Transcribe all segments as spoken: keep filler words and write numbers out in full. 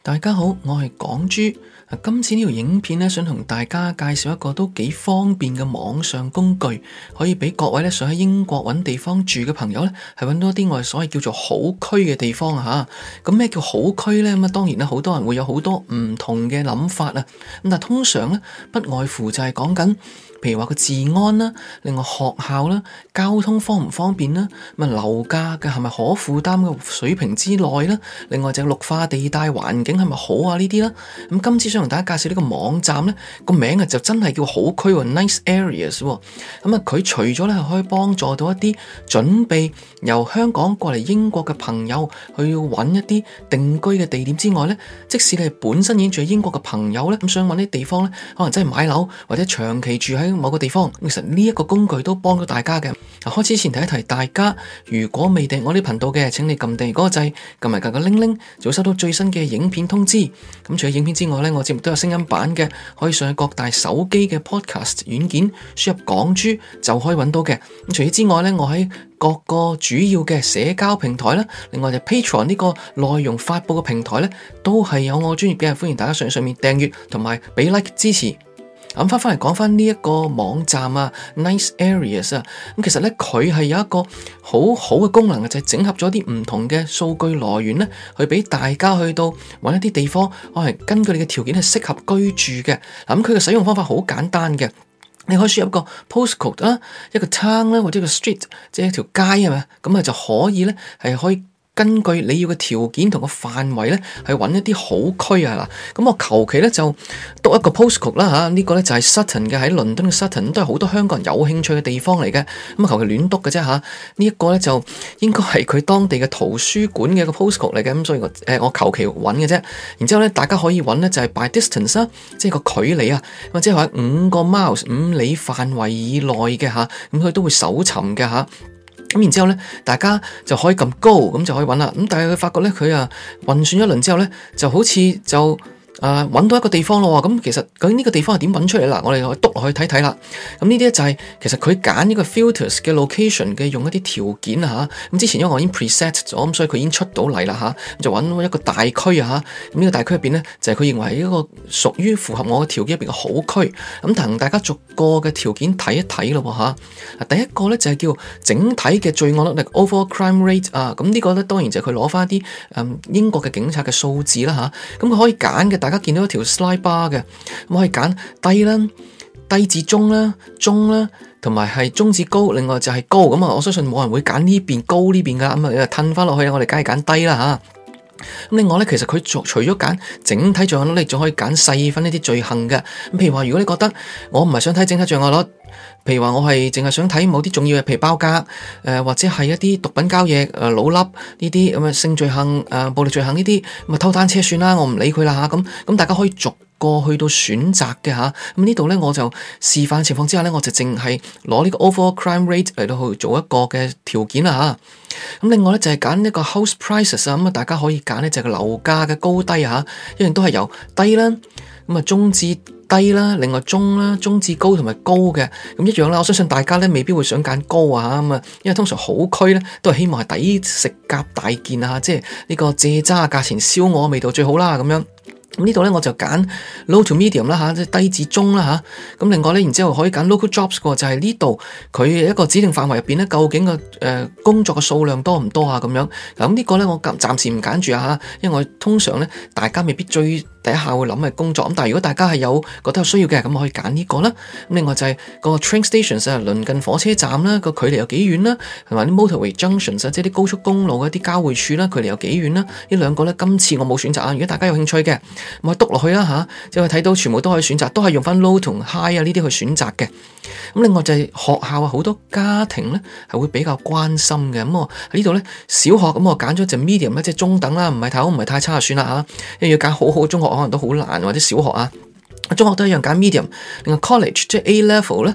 大家好，我係港豬。今次呢條影片咧，想同大家介紹一個都幾方便嘅網上工具，可以俾各位咧想喺英國揾地方住嘅朋友咧，係揾到一啲我哋所謂叫做好區嘅地方啊吓。咁咩叫好區咧？咁啊，當然咧，好多人會有好多唔同嘅諗法啊。咁但係通常咧，不外乎就係講緊，譬如話個治安啦，另外學校啦，交通方唔方便啦，咁啊樓價嘅係咪可負擔嘅水平之內啦，另外就係綠化地帶環境係咪好啊呢啲啦。咁今次想同大家介紹呢個網站咧，個名啊就真係叫好區喎 ，Nice Areas。咁啊，佢除咗咧係可以幫助到一啲準備由香港過嚟英國嘅朋友去揾一啲定居嘅地點之外咧，即使你係本身已經住喺英國嘅朋友咧，咁想揾啲地方咧，可能真係買樓或者長期住喺某個地方，其實呢一個工具都幫到大家嘅。開始前提一提大家，如果未訂我啲頻道嘅，請你撳訂閱嗰個掣，撳埋隔個鈴鈴，就會收到最新嘅影片通知。咁除咗影片之外咧，我節目都有聲音版嘅，可以上去各大手機嘅 podcast 軟件輸入港豬就可以揾到嘅。咁除此之外咧，我喺各個主要嘅社交平台啦，另外就 Patreon 呢個內容發佈嘅平台咧，都係有我專業嘅，歡迎大家上上面訂閱同埋俾 like 支持。咁翻翻嚟講翻呢一個網站啊 ，Nice Areas 啊，咁其實咧佢係有一個好好嘅功能嘅，就係、是、整合咗啲唔同嘅數據來源咧，去俾大家去到揾一啲地方，可能根據你嘅條件係適合居住嘅。咁佢嘅使用方法好簡單嘅，你可以輸入一個 postcode 啦，一個 town 啦，或者一個 street，即係一條街係咪？咁啊就可以咧係可以。根據你要嘅條件同個範圍咧，去揾一啲好區啊嗱。咁我求其咧就讀一個 postcode 啦嚇，呢個咧就係 Sutton 嘅，喺倫敦嘅 Sutton，都係好多香港人有興趣嘅地方嚟嘅。咁啊求其亂讀嘅啫嚇。呢一個咧就應該係佢當地嘅圖書館嘅一個 postcode 嚟嘅。咁所以我誒我求其揾嘅啫。然之後咧，大家可以揾咧就係 by distance 啦，即係個距離啊，或者係話五個 miles 五里範圍以內嘅嚇。咁佢都會搜尋嘅嚇。咁然之後咧，大家就可以撳 Go，咁就可以揾啦。咁但係佢發覺咧，佢啊運算一輪之後咧，就好似就啊揾到一個地方咯。咁其實究竟呢個地方係點揾出嚟啦？我哋可以督落去睇睇啦。咁呢啲咧就係、是、其實佢揀呢個 filters 嘅 location 嘅用一啲條件啊嚇。咁之前因為我已經 preset 咗，咁所以佢已經出到嚟啦嚇。就揾一個大區啊嚇。咁呢個大區入邊咧，就係、是、佢認為係一個屬於符合我嘅條件入邊嘅好區。咁同大家逐個嘅條件睇一睇咯嚇。第一個咧就係叫整體嘅罪案率 overall crime rate 啊。咁呢個咧當然就係佢攞翻啲誒英國嘅警察嘅數字啦嚇。咁佢可以揀嘅。大家見到一條 slide bar 嘅，咁可以揀低啦、低至中啦、中啦，同埋係中至高，另外就係高。咁啊，我相信冇人會揀呢邊高呢邊噶，咁啊，褪翻落去，我哋梗係揀低啦吓。咁另外咧，其實佢除除咗揀整體罪案率，你仲可以揀細分呢啲罪行嘅。咁譬如話，如果你覺得我唔係想睇整體罪案率，譬如話我係淨係想睇某啲重要嘅，譬如包格，誒、呃、或者係一啲毒品交易、誒、呃、老笠呢啲咁嘅性罪行、誒、呃、暴力罪行呢啲，咁啊偷單車算啦，我唔理佢啦吓。咁咁大家可以逐個去到選擇嘅吓。咁呢度咧我就示範情況之下咧，我就淨係攞呢個 overall crime rate 嚟到去做一個嘅條件啦吓。咁另外咧就係揀一個 house prices 啊，咁啊大家可以揀咧就係個樓價嘅高低吓，一樣都係由低啦，咁啊中至低啦，另外中啦、中至高同埋高嘅，咁一樣啦。我相信大家咧未必會想揀高啊，咁啊，因為通常好區咧都係希望係抵食夾大件啊，即係呢個蔗渣價錢燒鵝味道最好啦咁樣。咁呢度咧我就揀 low to medium 啦吓，即係低至中啦吓。咁另外咧，然之後可以揀 local jobs 嘅，就係呢度佢一個指定範圍入邊咧，究竟個誒、呃、工作嘅數量多唔多啊？咁樣咁呢個咧我暫時唔揀住啊吓，因為我通常咧大家未必最第一下會諗係工作。咁但係如果大家係有覺得有需要嘅，咁可以揀呢個啦。咁另外就係個 train stations 啊，鄰近火車站啦，個距離有幾遠啦，同埋啲 motorway junctions 啊，即係啲高速公路嘅啲交匯處啦，距離有幾遠啦。呢兩個咧今次我冇選擇啊。如果大家有興趣嘅，咁去篤落去啦吓，即係睇到全部都可以選擇，都係用翻 low 同 high 啊呢啲去選擇嘅。咁另外就係學校啊，好多家庭咧係會比較關心嘅。咁我喺呢度咧小學，咁我揀咗隻 medium 咧，即係中等啦，唔係太好，唔係太差就算啦吓。因為要揀好好嘅中學，可能都好難，或者小學啊。中學都一樣揀 medium，另外 college 即係 A level 咧，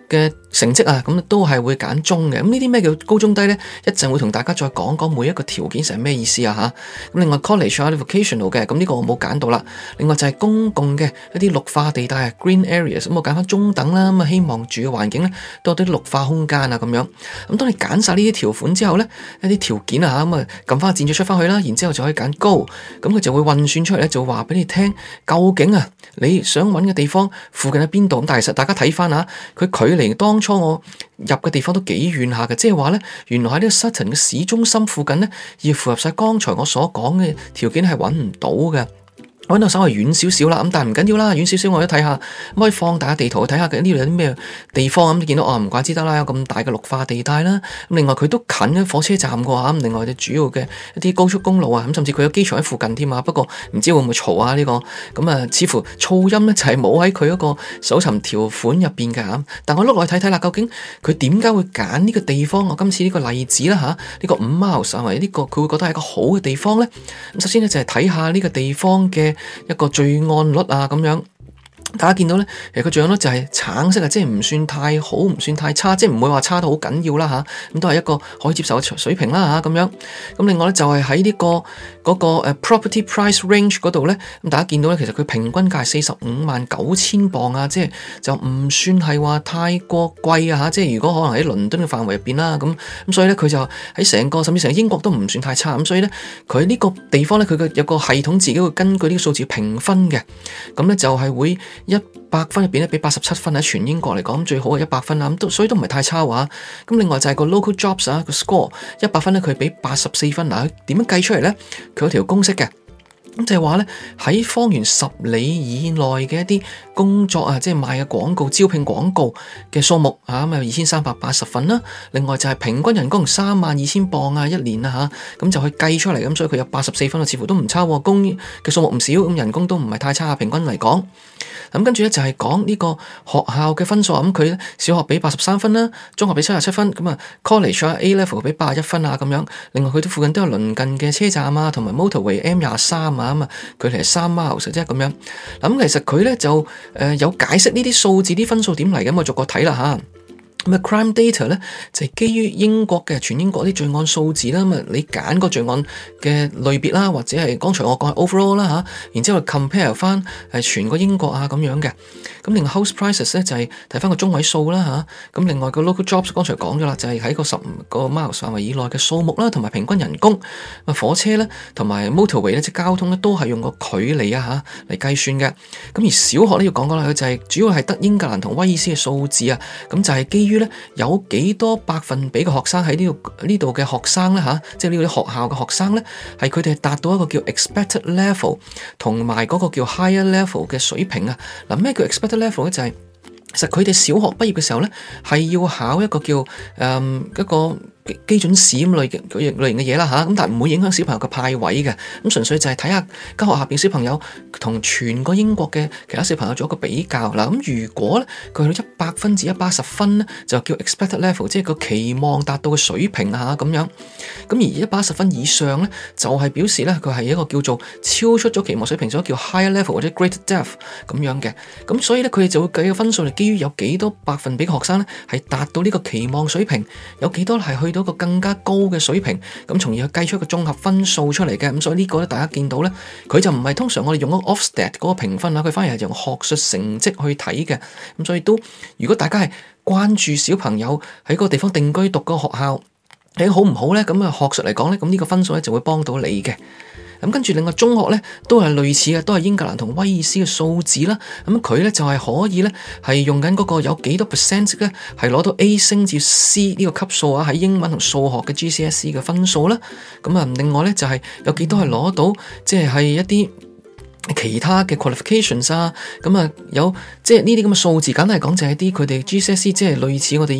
嘅成績啊，咁都係會揀中嘅。咁呢啲咩叫高中低呢？一陣會同大家再講講每一個條件係咩意思啊吓。咁另外 college 啊 vocational 嘅，咁呢個我冇揀到啦。另外就係公共嘅一啲綠化地帶啊 green areas，咁我揀翻中等啦。咁啊希望住嘅環境呢多啲綠化空間啊咁樣。咁當你揀晒呢啲條款之後呢，一啲條件啊吓，咁啊撳翻個箭嘴出翻去啦，然之後就可以揀高。咁佢就會運算出嚟咧，就話俾你聽究竟啊你想揾嘅地方附近喺邊度。咁但係其實大家睇翻啊，佢距離當初我入嘅地方都幾遠下嘅，即係話咧，原來喺呢個 Sutton 嘅市中心附近咧，要符合晒剛才我所講嘅條件係揾唔到嘅。揾到稍微遠少少啦，咁但係唔緊要啦，遠少少我都睇下，可以放大個地圖去睇下嘅呢度有啲咩地方咁，你見到哦唔怪之得啦，有咁大嘅綠化地帶啦。咁另外佢都近嘅火車站嘅話，咁另外嘅主要嘅一啲高速公路啊，咁甚至佢有機場喺附近添啊。不過唔知會唔會嘈啊呢個？咁啊，似乎噪音咧就係冇喺佢嗰個搜尋條款入邊嘅。但我碌落去睇睇啦，究竟佢點解會揀呢個地方？我今次呢個例子啦吓，呢個五 miles 或者呢個佢會覺得係一個好嘅地方咧。咁首先咧就係睇下呢個地方嘅一個罪案率啊，咁樣大家見到咧，其實個罪案率就係橙色啊，即係唔算太好，唔算太差，即係唔會話差到好緊要啦吓，咁都係一個可以接受嘅水平啦吓，咁樣。咁另外咧就係喺呢個嗰個誒 property price range 嗰度咧，咁大家見到咧，其實佢平均價係四十五萬九千磅啊，即係就唔算係話太過貴啊吓，即係如果可能喺倫敦嘅範圍入邊啦，咁咁所以咧佢就喺成個甚至成個英國都唔算太差，咁所以咧佢呢個地方咧佢嘅有個系統自己會根據呢個數字評分嘅，咁咧就係會一百分入邊咧俾八十七分，喺全英國嚟講最好係一百分啦，咁都所以都唔係太差話。咁另外就係個 local jobs 啊個 score 一百分咧佢俾八十四分，嗱佢點樣計出嚟咧？佢有條公式嘅。咁就係話咧，喺方圓十里以內嘅一啲工作啊，即係賣嘅廣告、招聘廣告嘅數目啊，咁啊二千三百八十份啦。另外就係平均人工三萬二千磅啊，一年啊吓，咁就去計出嚟，咁所以佢有八十四分啊，似乎都唔差。工嘅數目唔少，咁人工都唔係太差，平均嚟講。咁跟住咧就係講呢個學校嘅分數啊，咁佢咧小學俾八十三分啦，中學俾七十七分，咁啊 college 啊 A level 俾八十一分啊咁樣。另外佢都附近都有鄰近嘅車站啊，同埋 motorway M 廿三啊。咁啊，距離係三 miles 啫咁樣。咁其實佢咧就誒有解釋呢啲數字啲分數點嚟嘅，我逐個睇啦吓。咁啊，crime data 咧就係基於英國嘅全英國啲罪案數字啦。咁啊，你揀個罪案嘅類別啦，或者係剛才我講係 overall 啦吓，然之後 compare 翻係全個英國啊咁樣嘅。咁另外 house prices 咧就係睇翻個中位數啦吓。咁另外個 local jobs 剛才講咗啦，就係喺個十五個 miles 範圍以內嘅數目啦，同埋平均人工。啊，火車咧同埋 motorway 咧即係交通咧都係用個距離啊吓嚟計算嘅。咁而小學咧要講講啦，佢就係主要係得英格蘭同威爾斯嘅數字啊。咁就係基於有幾多百分比嘅學生喺呢度呢度嘅學生咧吓，即係呢啲學校嘅學生咧，係佢哋係達到一個叫 expected level 同埋嗰個叫 higher level 嘅水平啊。嗱，咩叫 expected level 咧？就係其實佢哋小學畢業嘅時候咧，係要考一個叫誒、嗯、一個基準試咁類嘅類型嘅嘢啦吓，咁但係唔會影響小朋友嘅派位嘅，咁純粹就係睇下間學校入邊小朋友同全個英國嘅其他小朋友做一個比較啦。咁如果咧佢去到一百分至一百一十分咧，就叫 expected level，即係個期望達到嘅水平啊咁樣。咁而一百一十分以上咧，就係表示咧佢係一個叫做超出咗期望水平，所以叫 higher level 或者 greater depth 咁樣嘅。咁所以咧佢哋就會計個分數嚟，基於有幾多百分比嘅學生咧係達到呢個期望水平，有幾多係去到一個更加高嘅水平，咁從而去計出一個綜合分數出嚟嘅。咁所以呢個咧，大家見到咧，佢就唔係通常我哋用嗰個 Ofsted 嗰個評分啦，佢反而係用學術成績去睇嘅。咁所以都，如果大家係關注小朋友喺嗰個地方定居讀嗰個學校，你好唔好咧？咁啊，學術嚟講咧，咁呢個分數咧就會幫到你嘅。咁跟住另外中學咧都係類似嘅，都係英格蘭同威爾斯嘅數字啦。咁佢咧就係可以咧係用緊嗰個有幾多 percent 咧係攞到 A 升至 C 呢個級數啊，喺英文同數學嘅 G C S E 嘅分數啦。咁啊，另外咧就係有幾多係攞到即係係一啲其他嘅 qualifications 啊。咁啊有即係呢啲咁嘅數字，簡單嚟講就係啲佢哋 G C S E 即係類似我哋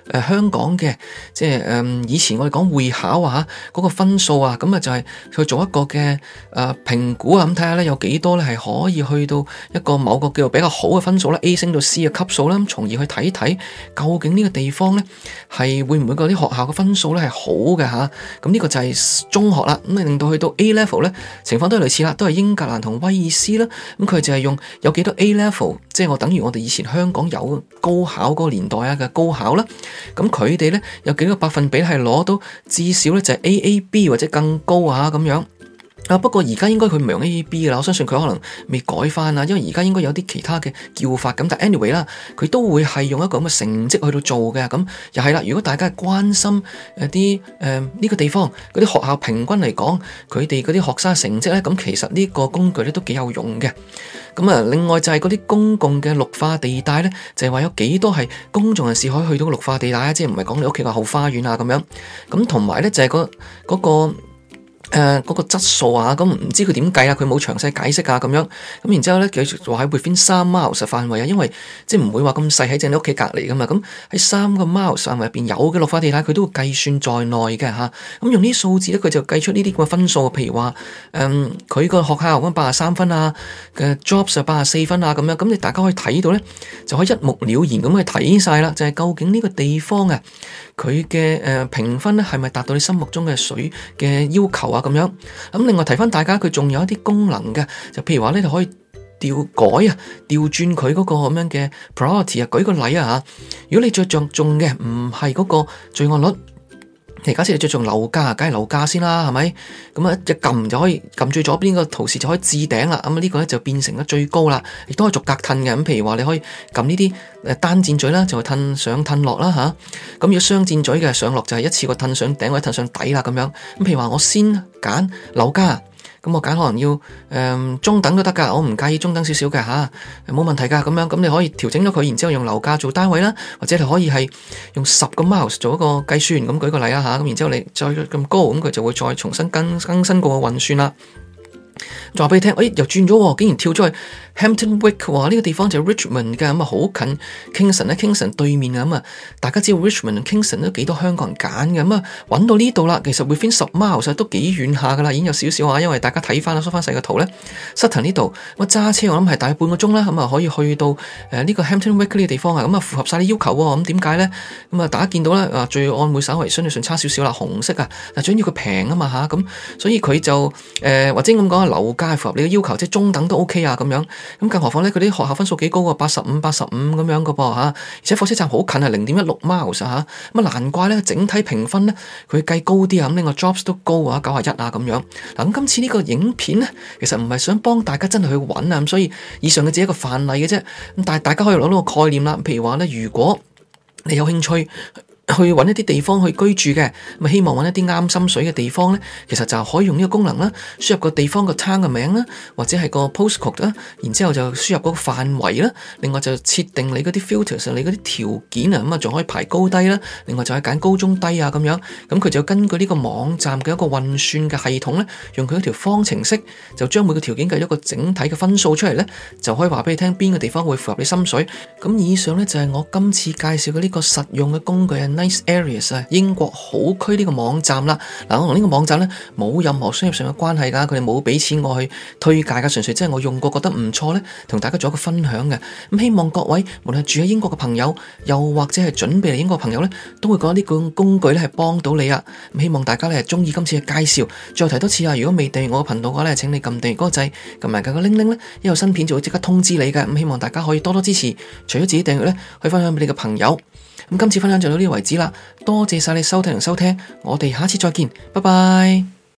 呃、香港嘅即係誒、呃、以前我哋講會考啊嗰、那個分數啊，咁啊就係去做一個嘅誒評估啊，咁睇下咧有幾多咧係可以去到一個某個叫做比較好嘅分數啦 A 升到 C 嘅級數啦，咁從而去睇睇究竟呢個地方咧係會唔會嗰啲學校嘅分數咧係好嘅吓，咁、啊、呢個就係中學啦，咁啊令到去到 A level 咧情況都係類似啦，都係英格蘭同威爾斯啦，咁佢就係用有幾多 A level， 即係我等於我哋以前香港有高考嗰個年代啊嘅高考啦，咁佢哋咧有幾個百分比係攞到至少咧就係 A A B 或者更高啊咁樣。啊！不過而家應該佢唔係用 A A B 啦，我相信佢可能未改翻啦，因為而家應該有啲其他嘅叫法咁。但 anyway 啦，佢都會係用一個咁嘅成績去到做嘅。咁又係啦，如果大家係關心誒啲誒呢個地方嗰啲學校平均嚟講，佢哋嗰啲學生成績咧，咁其實呢個工具咧都幾有用嘅。咁啊，另外就係嗰啲公共嘅綠化地帶咧，就係話有幾多係公眾人士可以去到個綠化地帶啊，即係唔係講你屋企個後花園啊咁樣。咁同埋咧就係嗰嗰個。誒，嗰、呃那個質素啊，咁唔知佢點計啊，佢冇詳細解釋啊，咁樣，咁然之後咧，繼續話喺 within 三 miles 範圍啊，因為即係唔會話咁細喺正你屋企隔籬噶嘛，咁喺三個 miles 範圍入邊有嘅綠化地帶，佢都會計算在內嘅吓，咁、啊、用啲數字咧，佢就計出呢啲咁嘅分數，譬如話，誒、嗯，佢個學校咁八十三分啊，嘅 jobs 就八十四分啊，咁樣，咁你大家可以睇到咧，就可以一目了然咁去睇晒啦，就係、是、究竟呢個地方啊，佢嘅誒評分咧係咪達到你心目中嘅水嘅要求啊？咁樣，咁另外提翻大家，佢仲有一啲功能嘅，就譬如話咧，你可以調改啊，調轉佢嗰個咁樣嘅 priority 啊。舉個例啊吓，如果你最着重嘅唔係嗰個罪案率，其實假設你着重樓價，梗係樓價先啦，係咪？咁啊，一撳就可以撳最左邊個圖示就可以置頂啦。咁啊，呢個咧就變成咗最高啦，亦都可以逐格褪嘅。咁譬如話你可以撳呢啲誒單箭嘴啦，就係褪上褪落啦吓。咁如果雙箭嘴嘅上落就係一次過褪上頂或者褪上底啦咁樣。咁譬如話我先揀樓價。咁我揀可能要誒、呃、中等都得噶，我唔介意中等少少嘅吓，冇問題噶咁樣。咁你可以調整咗佢，然之後用樓價做單位啦，或者你可以係用十個 miles 做一個計算。咁舉個例啦吓，咁然之後你再咁高，咁佢就會再重新更更新過個運算啦。再話俾你聽，誒、哎、又轉咗，竟然跳咗去 Hampton Wick， 哇！呢、這個地方就係 Richmond 嘅，咁啊好近 Kingston 咧 ，Kingston 對面啊，咁啊大家知道 Richmond 同 Kingston 都幾多香港人揀嘅，咁啊揾到呢度啦。其實 within 十 miles 都幾遠下噶啦，已經有少少啊。因為大家睇翻啦，縮翻細個圖咧，Sutton 呢度咁揸車我諗係大概半個鐘啦，咁啊可以去到誒呢、呃這個 Hampton Wick 呢個地方啊，咁啊符合晒啲要求喎。咁點解咧？咁啊大家見到咧啊罪案會稍微相對上差少少啦，紅色啊，但最緊要佢平啊嘛吓，咁所以佢就誒、呃、或者咁講啊樓價符合你嘅要求，即係中等都 OK 啊咁樣。咁更何況咧，佢啲學校分數幾高啊，八十五、八十五咁樣嘅噃嚇，而且火車站好近啊，零點一六 miles 嚇，咁啊難怪咧整體評分咧佢計高啲啊，咁另外 jobs 都高啊，九十一啊咁樣。嗱咁今次呢個影片咧，其實唔係想幫大家真係去揾啊，咁所以以上嘅只係一個範例嘅啫。咁但係大家可以攞到個概念啦，譬如話咧，如果你有興趣去揾一啲地方去居住嘅，咁希望揾一啲啱心水嘅地方咧，其實就可以用呢個功能啦，輸入個地方個 town 嘅名啦，或者係個 postcode 啦，然之後就輸入嗰個範圍啦，另外就設定你嗰啲 filters，你嗰啲條件啊，咁啊仲可以排高低啦，另外就係揀高中低啊咁樣，咁佢就根據呢個網站嘅一個運算嘅系統咧，用佢一條方程式就將每個條件計咗個整體嘅分數出嚟咧，就可以話俾你聽邊個地方會符合你心水。咁以上咧就係我今次介紹嘅呢個實用嘅工具啊。Nice Areas 啊，英國好區呢個網站啦，嗱我同呢個網站咧冇任何商業上嘅關係噶，佢哋冇俾錢我去推介噶，純粹即係我用過覺得唔錯咧，同大家做一個分享嘅。咁希望各位無論係住喺英國嘅朋友，又或者係準備嚟英國嘅朋友咧，都會覺得呢個工具咧係幫到你啊。咁希望大家咧係中意今次嘅介紹。再提多次啊，如果未訂閱我嘅頻道嘅話咧，請你撳訂閱嗰個掣，撳埋個鈴鈴咧，一有新片就會即刻通知你嘅。咁希望大家可以多多支持，除咗自己訂閱咧，可以分享俾你嘅朋友。咁今次分享就到呢個為止啦，多謝晒你收睇同收聽，我哋下次再見，拜拜。